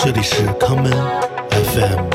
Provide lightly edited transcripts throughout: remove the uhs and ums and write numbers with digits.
这里是 Common FM。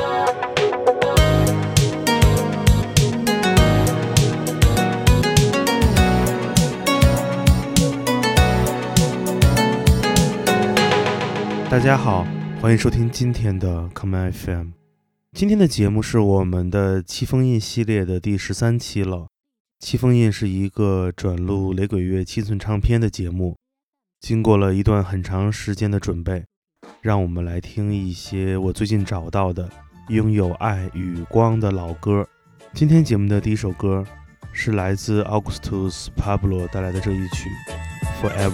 大家好，欢迎收听今天的 Common FM。今天的节目是我们的七封印系列的第13期了。七封印是一个转录雷鬼乐7寸唱片的节目，经过了一段很长时间的准备，让我们来听一些我最近找到的拥有爱与光的老歌。今天节目的第一首歌是来自 Augustus Pablo 带来的这一曲 Forever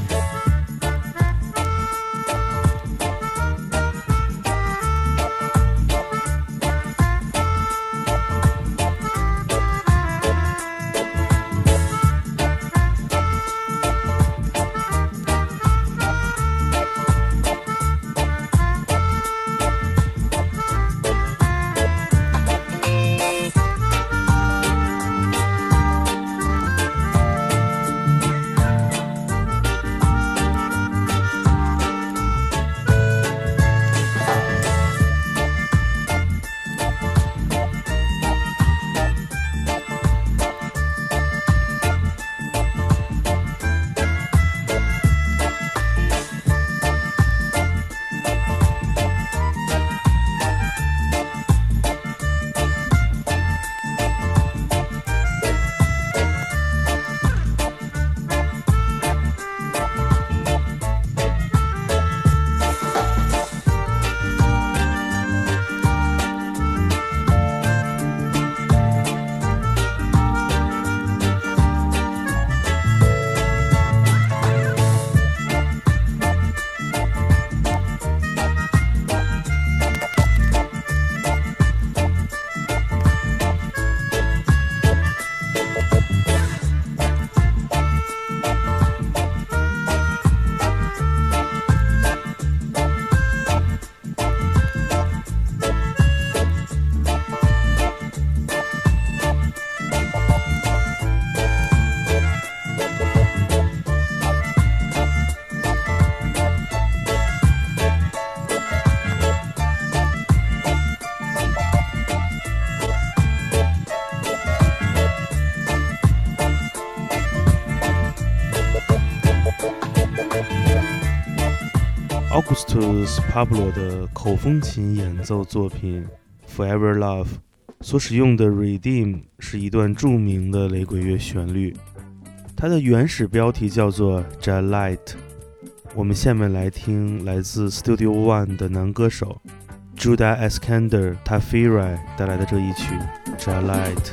Love。Augustus Pablo 的口风琴演奏作品 Forever Love 所使用的 Redeem 是一段著名的雷鬼乐旋律，它的原始标题叫做 Jalite。 我们下面来听来自 Studio One 的男歌手 Judah Eskander Tafiri 带来的这一曲 Jalite。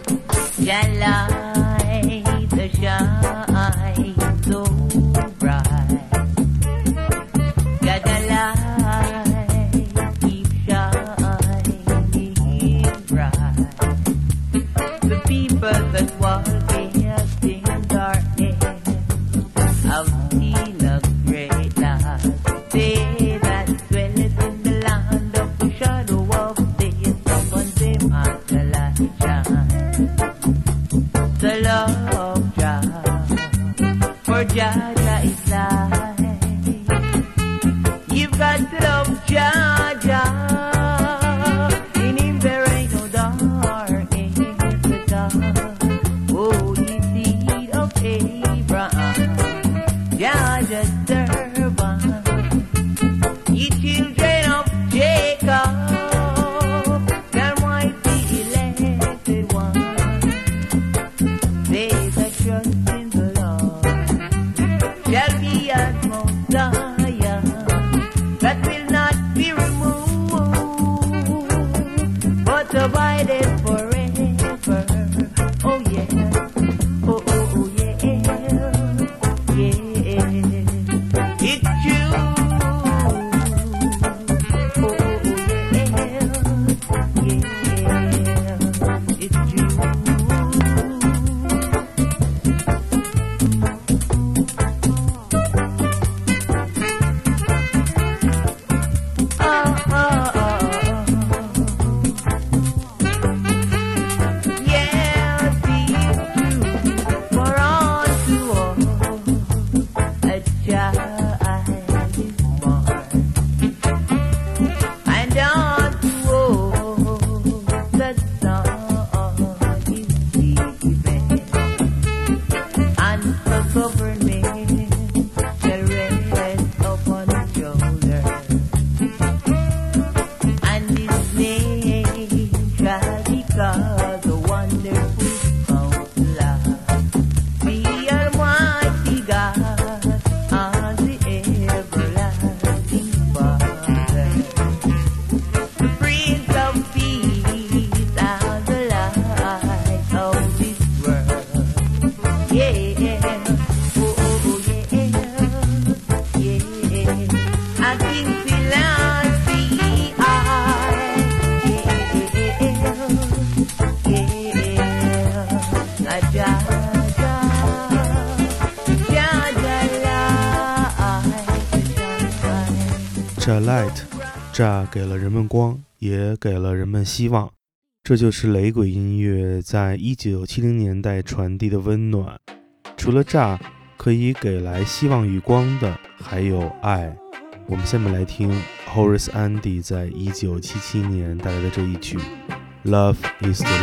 Jalite shine so bright, got the light keep shining bright. The people that walk in darkness have seen a great light. They that dwelleth in the land of the shadow of death, someone them as the light shine. The love Jah, for Jah is light. You've got to love Jah, Jah. In him there ain't no darkness at all. Oh, ye seed of Abraham, Jah just servant. Ye children of Jacob, that might be elected one. They that trust in the Lord shall be as Mount Zion, that will not be removed, but abideth forever. Oh yeah, oh oh oh yeah, yeah, it's true. Oh oh yeah, yeah, it's true. in philosophy. Jah Light， Jah 给了人们光，也给了人们希望。这就是雷鬼音乐在1970年代传递的温暖。除了Jah可以给来希望与光的，还有爱。我们下面来听 Horace Andy 在1977年带来的这一曲 Love is the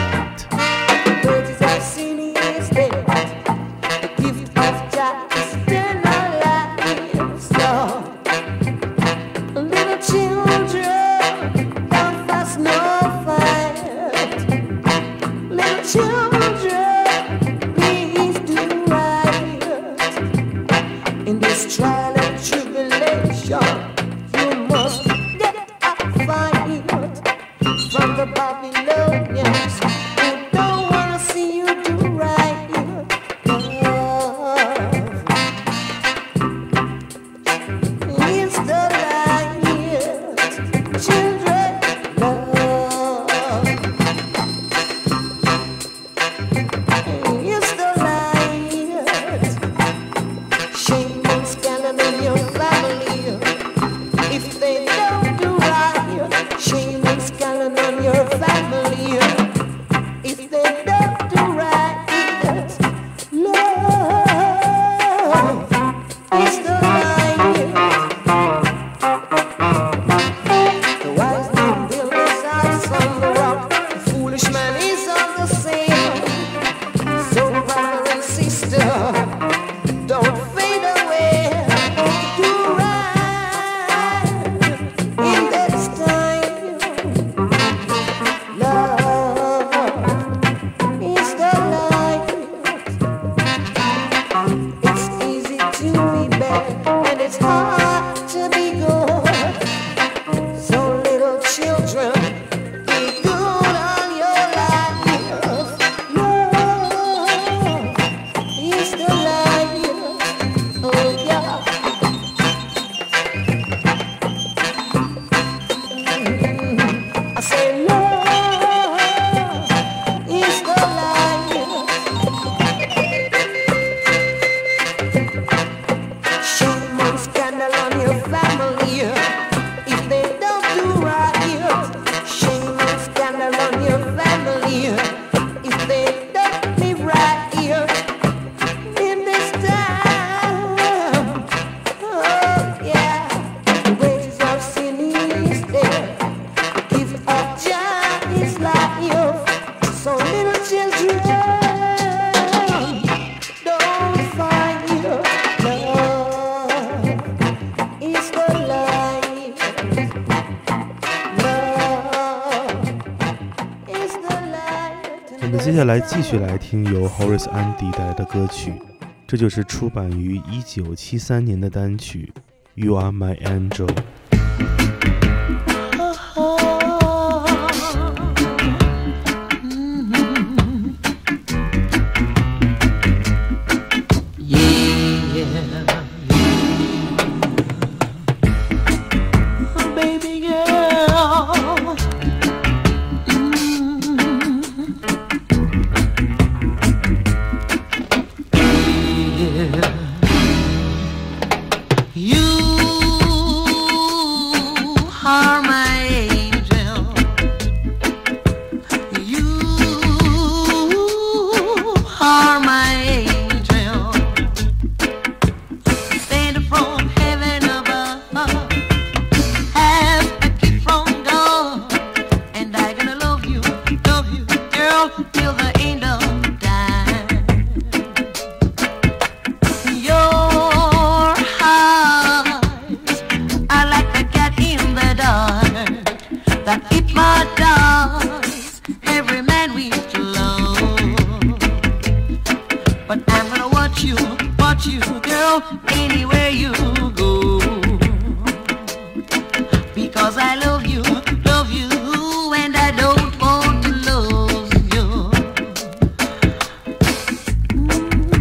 light。我们接下来继续来听由 Horace Andy 带来的歌曲，这就是出版于1973年的单曲 You Are My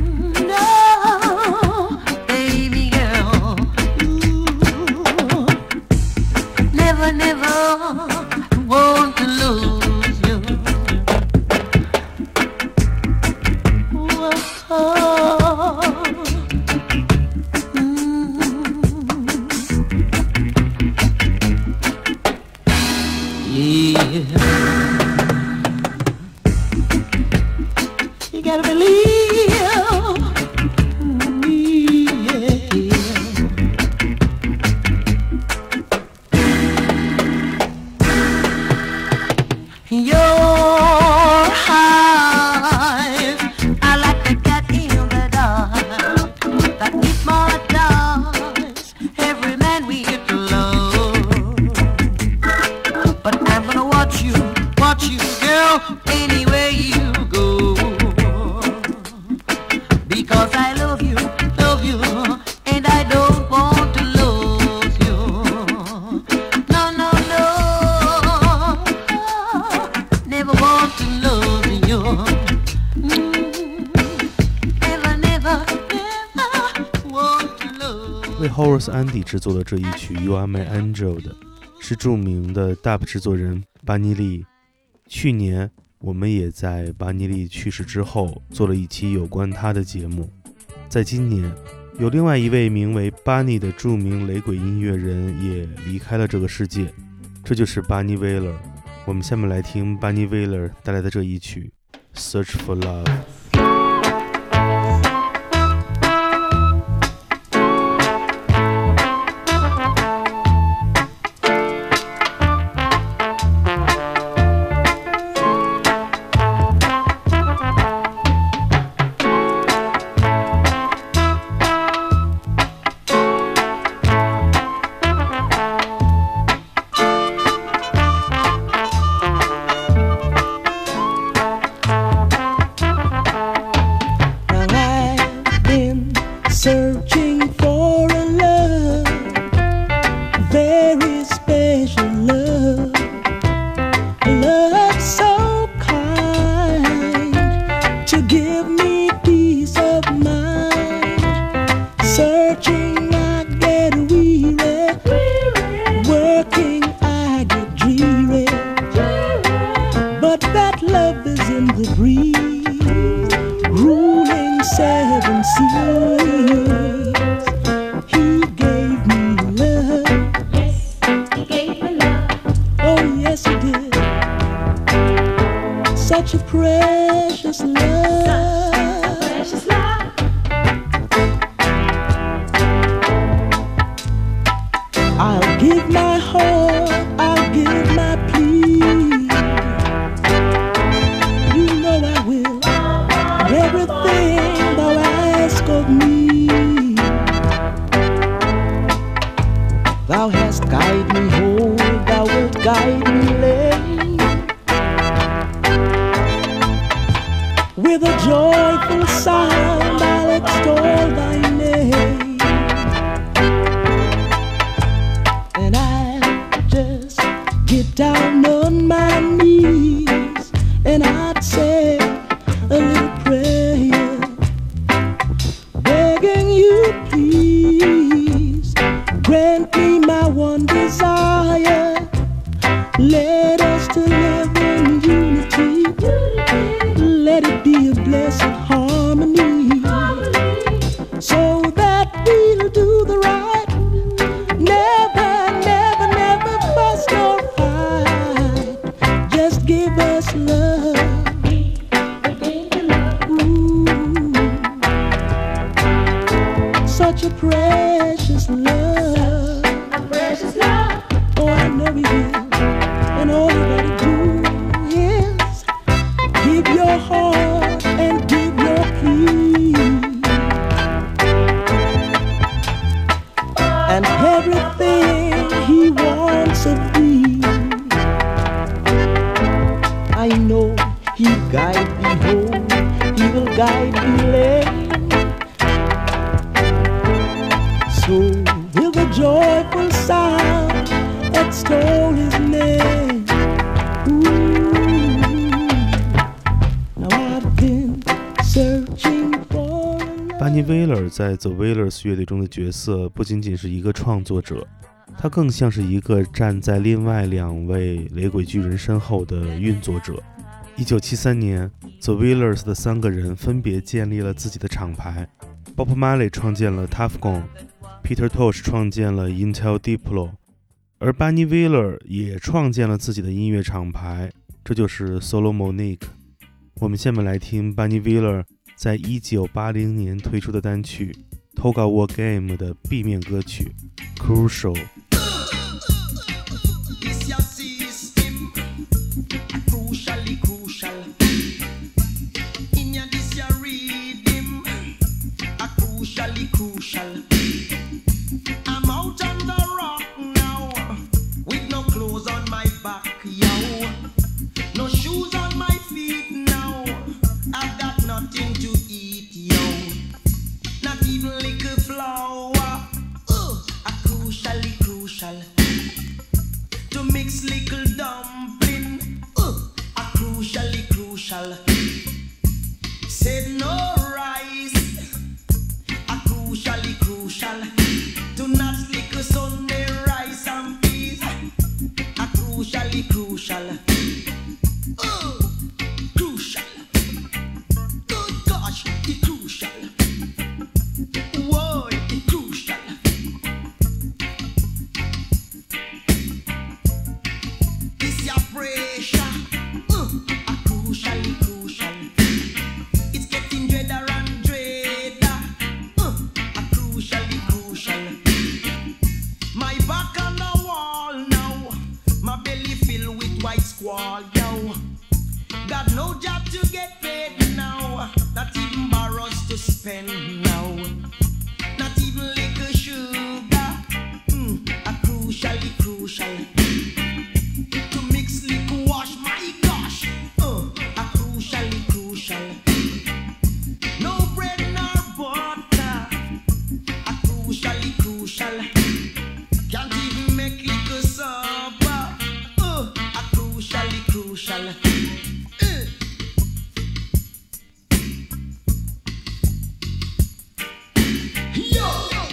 Angel。 never, never want to lose you. Yeah. You gotta believe me, yeah. Your eyes are like the cat in the dark that hypnotize every man we get to love. But I'm gonna watch you, girl, anywhere you go. Because I love you, and I don't want to lose you. No, no, no, never want to lose you. Never, never, never want to lose. 为 Horace Andy 制作的这一曲 You Are My Angel 的是著名的 Dub 制作人巴尼利。去年我们也在巴尼利去世之后做了一期有关他的节目。在今年有另外一位名为巴尼的著名雷鬼音乐人也离开了这个世界，这就是巴尼威勒。我们下面来听巴尼威勒带来的这一曲 Search for Love。 Searching for a love, very special love, a love so kind to give me peace of mind. Searching I get weary, working I get dreary, but that love is in the breeze, ruling 7 seas. Such a precious love, precious love. I'll give my heart, I'll give my plea. You know I will, everything thou ask of me. Thou hast guided me whole, thou wilt guide me late. With a joyful sound I'll extol thy name, and I'll just get down on my knees and I'd say a little prayer, begging you please grant me my one desire. Let us to live in unity, let it be a blessed harmony, so that we'll do the right, never, never, never fuss or fight, just give us love. Ooh, such a precious love, oh I know we will, and all you gotta do is give your heart and give your plea, and everything he wants of thee. I know he'll guide me home, he will guide me lane, so with a joyful sound extol his name. Ooh, now I've been searching for 巴尼威勒在 The Wailers 乐队中的角色不仅仅是一个创作者， 他更像是一个站在另外2位雷鬼巨人身后的运作者。1973年 The Wailers 的3个人分别建立了自己的厂牌， Bob Marley 创建了 Tuff Gong， Peter Tosh 创建了 Intel Diplo， 而 Bunny Wailer 也创建了自己的音乐厂牌，这就是 Solomonic。 我们下面来听 Bunny Wailer 在1980年推出的单曲 Toga War Game 的 B 面歌曲 Crucial。 I'm out on the rock now, with no clothes on my back, yo. No shoes on my feet now. I've got nothing to eat, yo. Not even liquor flour. A crucial. To mix little dumpling. A crucial. Said no rice. A crucial. Do not lick a Sunday rice and peas. A crucial. Crucial. Good gosh, the crucial. Whoa, the crucial. This your pressure. A crucial. It's getting dreader and dreader. A crucial. My back on the wall now. My belly filled with white squall, yo. Got no job to get paid now. Not even borrows to spend now. Not even liquor sugar. A crucial. To mix liquor wash, my gosh. A crucial. No bread nor butter. A crucial. Can't even make liquor supper. A crucial. Yo!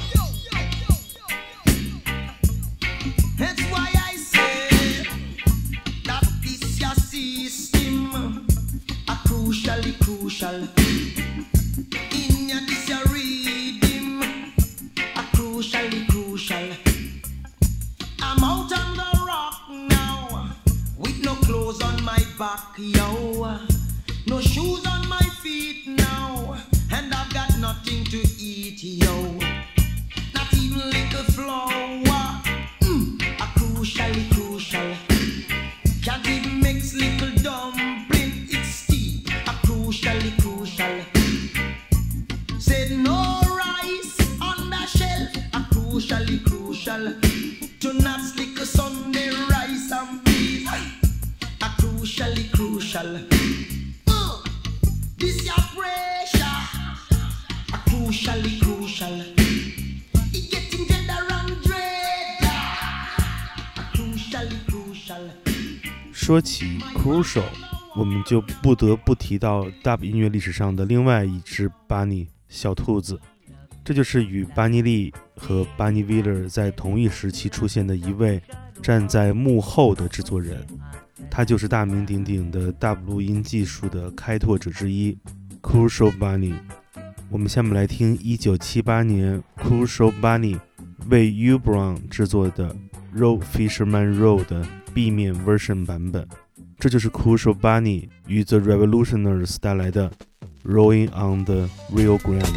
That's why I say that this your system. A crucial. In your this your rhythm. A crucial. I'm out on the rock now, with no clothes on my back, yo. No shoes on my feet now, and I've got nothing to eat, yo. Not even liquor flour. A crucial. Can't even mix little dumpling, it's steep. A crucial. Said no rice on the shelf. A crucial. To not slick a Sunday rice and peas. A crucial. This your pressure. A crucial. It getting dreader and dreader. A crucial. 说起 Crucial， 我们就不得不提到 Dub 音乐历史上的另外一只 Bunny 小兔子，这就是与 Bunny Lee 和 Bunny Wailer 在同一时期出现的一位站在幕后的制作人，他就是大名鼎鼎的 Dub 录音技术的开拓者之一 Crucial Bunny。 我们下面来听1978年 Crucial Bunny 为 U Brown 制作的 Roll Fisherman Roll 的 B 面 version 版本，这就是 Crucial Bunny 与 The Revolutioners 带来的 Rolling on the Rio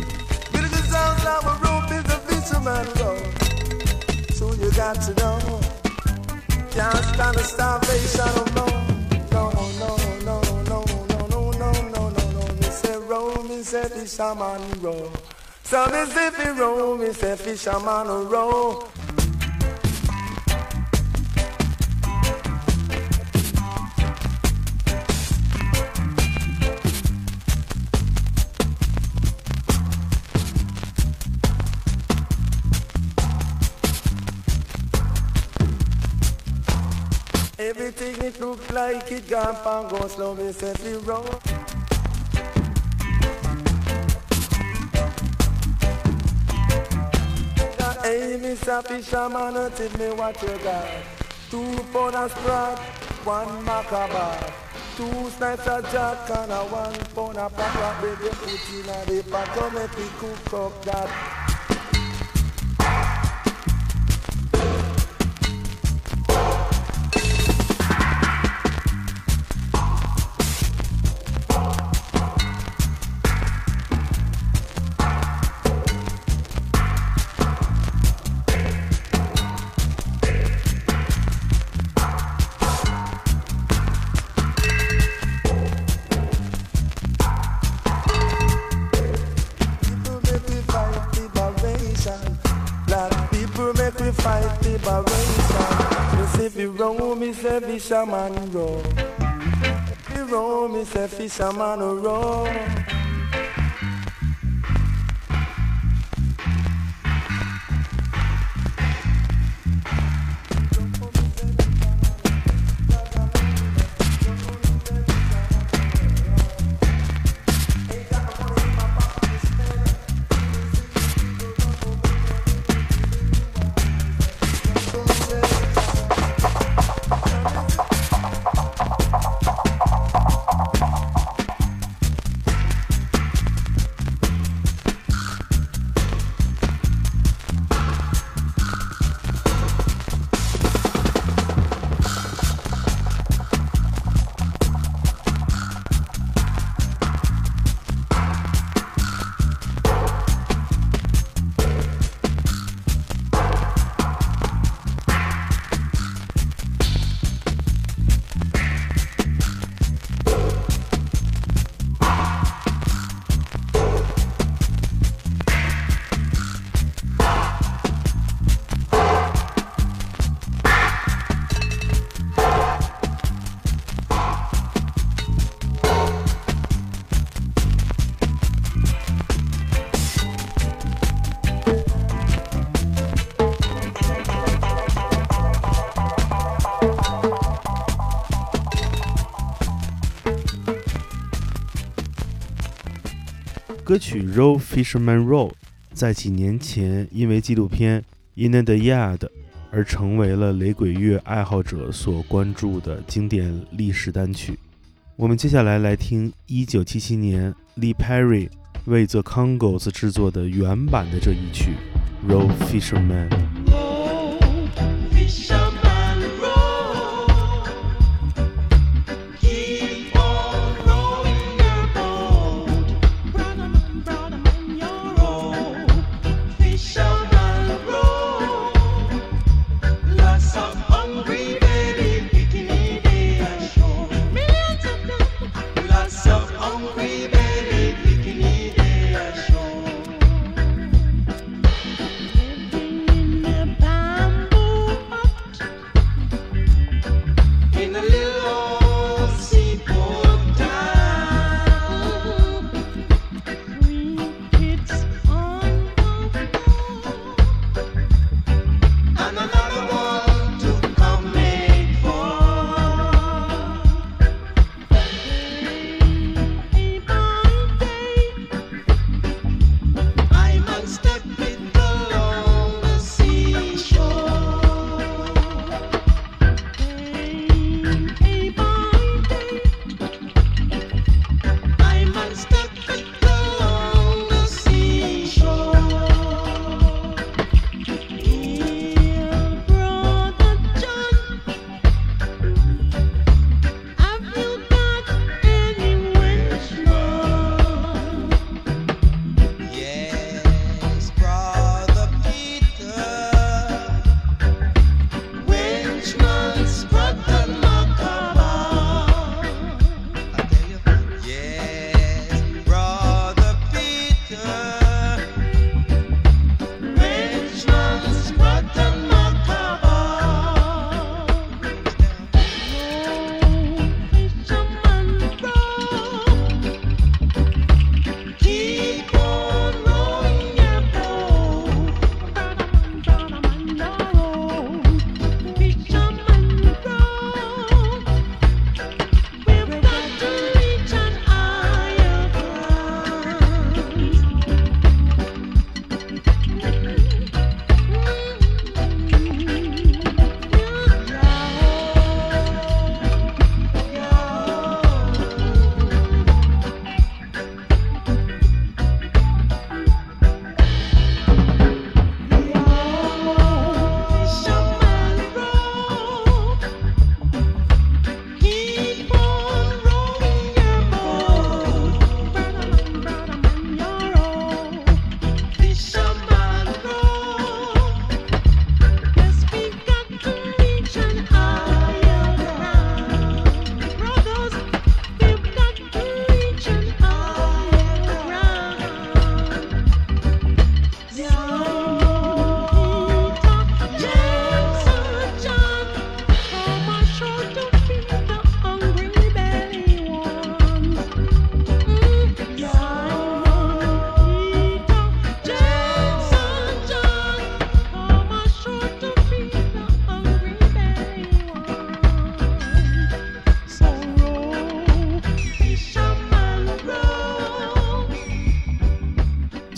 Grande。So you got to know, can't stand the starvation of no. Me say roll, me say fisherman roll. So me say fi roll, me say fisherman roll. Everything it look like it gone and go slow, me say fi roll. The aim Mr. Fisherman, tell me what you got. 2 pound of sprat, 1 macabre, 2 snipes of jack and a 1 pound of papa. Baby, put in a the pot, come make me cook up that. Fight the barration. You see fi row, me say fisherman row. Fi row, me say fisherman row. 歌曲 Row Fisherman Row 在几年前因为纪录片 In the Yard 而成为了雷鬼乐爱好者所关注的经典历史单曲。我们接下来听1977年 Lee Perry 为 The Congos 制作的原版的这一曲 Row Fisherman。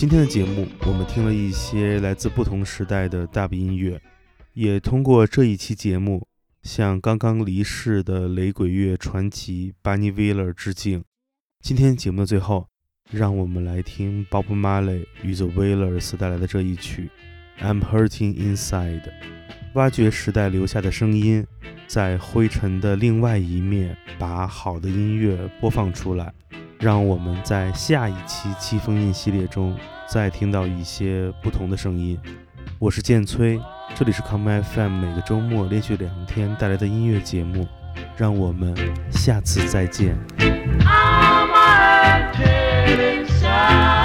今天的节目，我们听了一些来自不同时代的dub音乐，也通过这一期节目向刚刚离世的雷鬼乐传奇 Bunny Wailer 致敬。今天节目的最后，让我们来听 Bob Marley 与 The Wailers 带来的这一曲 I'm Hurting Inside， 挖掘时代留下的声音，在灰尘的另外一面把好的音乐播放出来，让我们在下一期七封印系列中再听到一些不同的声音。我是建崔，这里是 Come FM 每个周末连续2天带来的音乐节目，让我们下次再见。 I'm hurting inside.